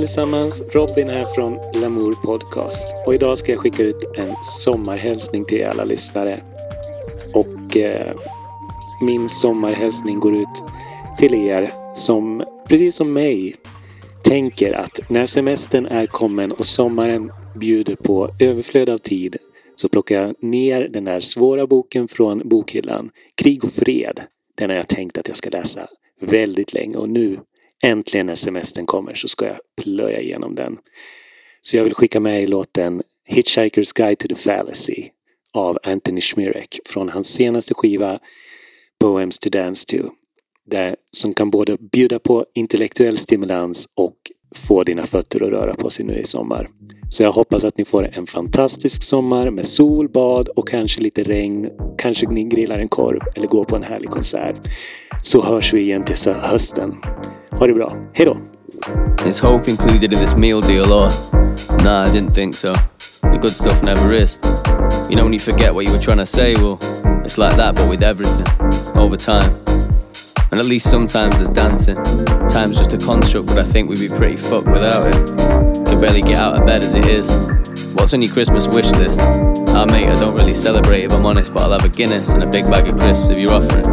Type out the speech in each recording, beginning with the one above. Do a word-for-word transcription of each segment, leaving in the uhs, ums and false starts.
allesammans, Robin här från Lamour Podcast. Och idag ska jag skicka ut en sommarhälsning till alla lyssnare. Och eh, min sommarhälsning går ut till er som, precis som mig, tänker att när semestern är kommen och sommaren bjuder på överflöd av tid, så plockar jag ner den där svåra boken från bokhyllan, Krig och fred. Den har jag tänkt att jag ska läsa väldigt länge, och nu äntligen när semestern kommer så ska jag plöja igenom den. Så jag vill skicka med i låten Hitchhiker's Guide to the Fallacy av Anthony Schmirek från hans senaste skiva Poems to Dance to. Där, som kan både bjuda på intellektuell stimulans och få dina fötter att röra på sig nu i sommar. Så jag hoppas att ni får en fantastisk sommar med sol, bad och kanske lite regn. Kanske ni grillar en korv eller går på en härlig konsert. Så hörs vi igen till hösten. Ha det bra. Hej då! Is hope included in this meal deal or? Nah, I didn't think so. The good stuff never is. You know when you forget what you were trying to say, well, it's like that but with everything. Over time. And at least sometimes there's dancing. Time's just a construct, but I think we'd be pretty fucked without it. Could barely get out of bed as it is. What's on your Christmas wish list? Ah mate, I don't really celebrate if I'm honest, but I'll have a Guinness and a big bag of crisps if you're offering.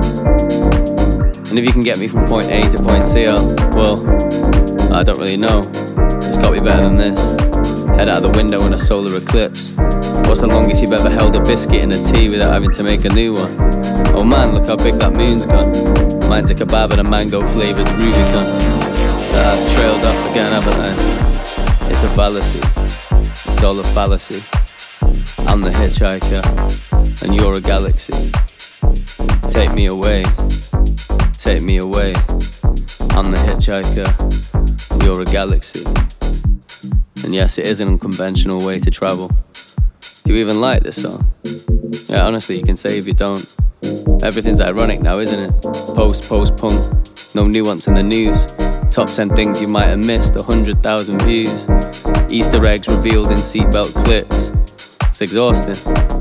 And if you can get me from point A to point C, I'll, well, I don't really know. It's got to be better than this. Head out of the window in a solar eclipse. What's the longest you've ever held a biscuit in a tea without having to make a new one? Oh man, look how big that moon's gone. Mine's a kebab and a mango flavoured Rubicon. That I've trailed off again, haven't I? It's a fallacy. It's all a fallacy. I'm the hitchhiker and you're a galaxy. Take me away. Take me away. I'm the hitchhiker. You're a galaxy. And yes, it is an unconventional way to travel. Do you even like this song? Yeah, honestly, you can say if you don't. Everything's ironic now, isn't it? Post, post, punk. No nuance in the news. Top ten things you might have missed. A hundred thousand views. Easter eggs revealed in seatbelt clips. It's exhausting.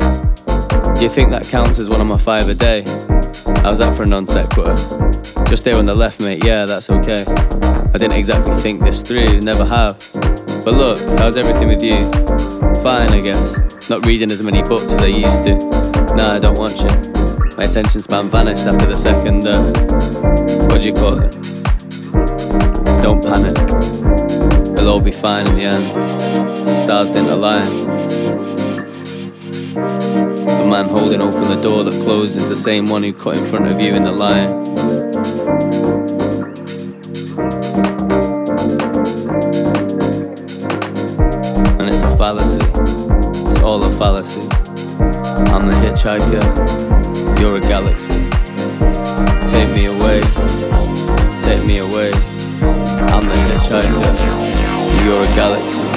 Do you think that counts as one of my five a day? How's that for a non-sequitur? Just there on the left, mate, yeah, that's okay. I didn't exactly think this through, never have. But look, how's everything with you? Fine, I guess. Not reading as many books as I used to. Nah, I don't watch it. My attention span vanished after the second, uh, what do you call it? Don't panic. It'll all be fine in the end. The stars didn't align. The man holding open the door that closed is the same one who cut in front of you in the line. And it's a fallacy. It's all a fallacy. I'm the hitchhiker. You're a galaxy. Take me away. Take me away. I'm the hitchhiker. You're a galaxy.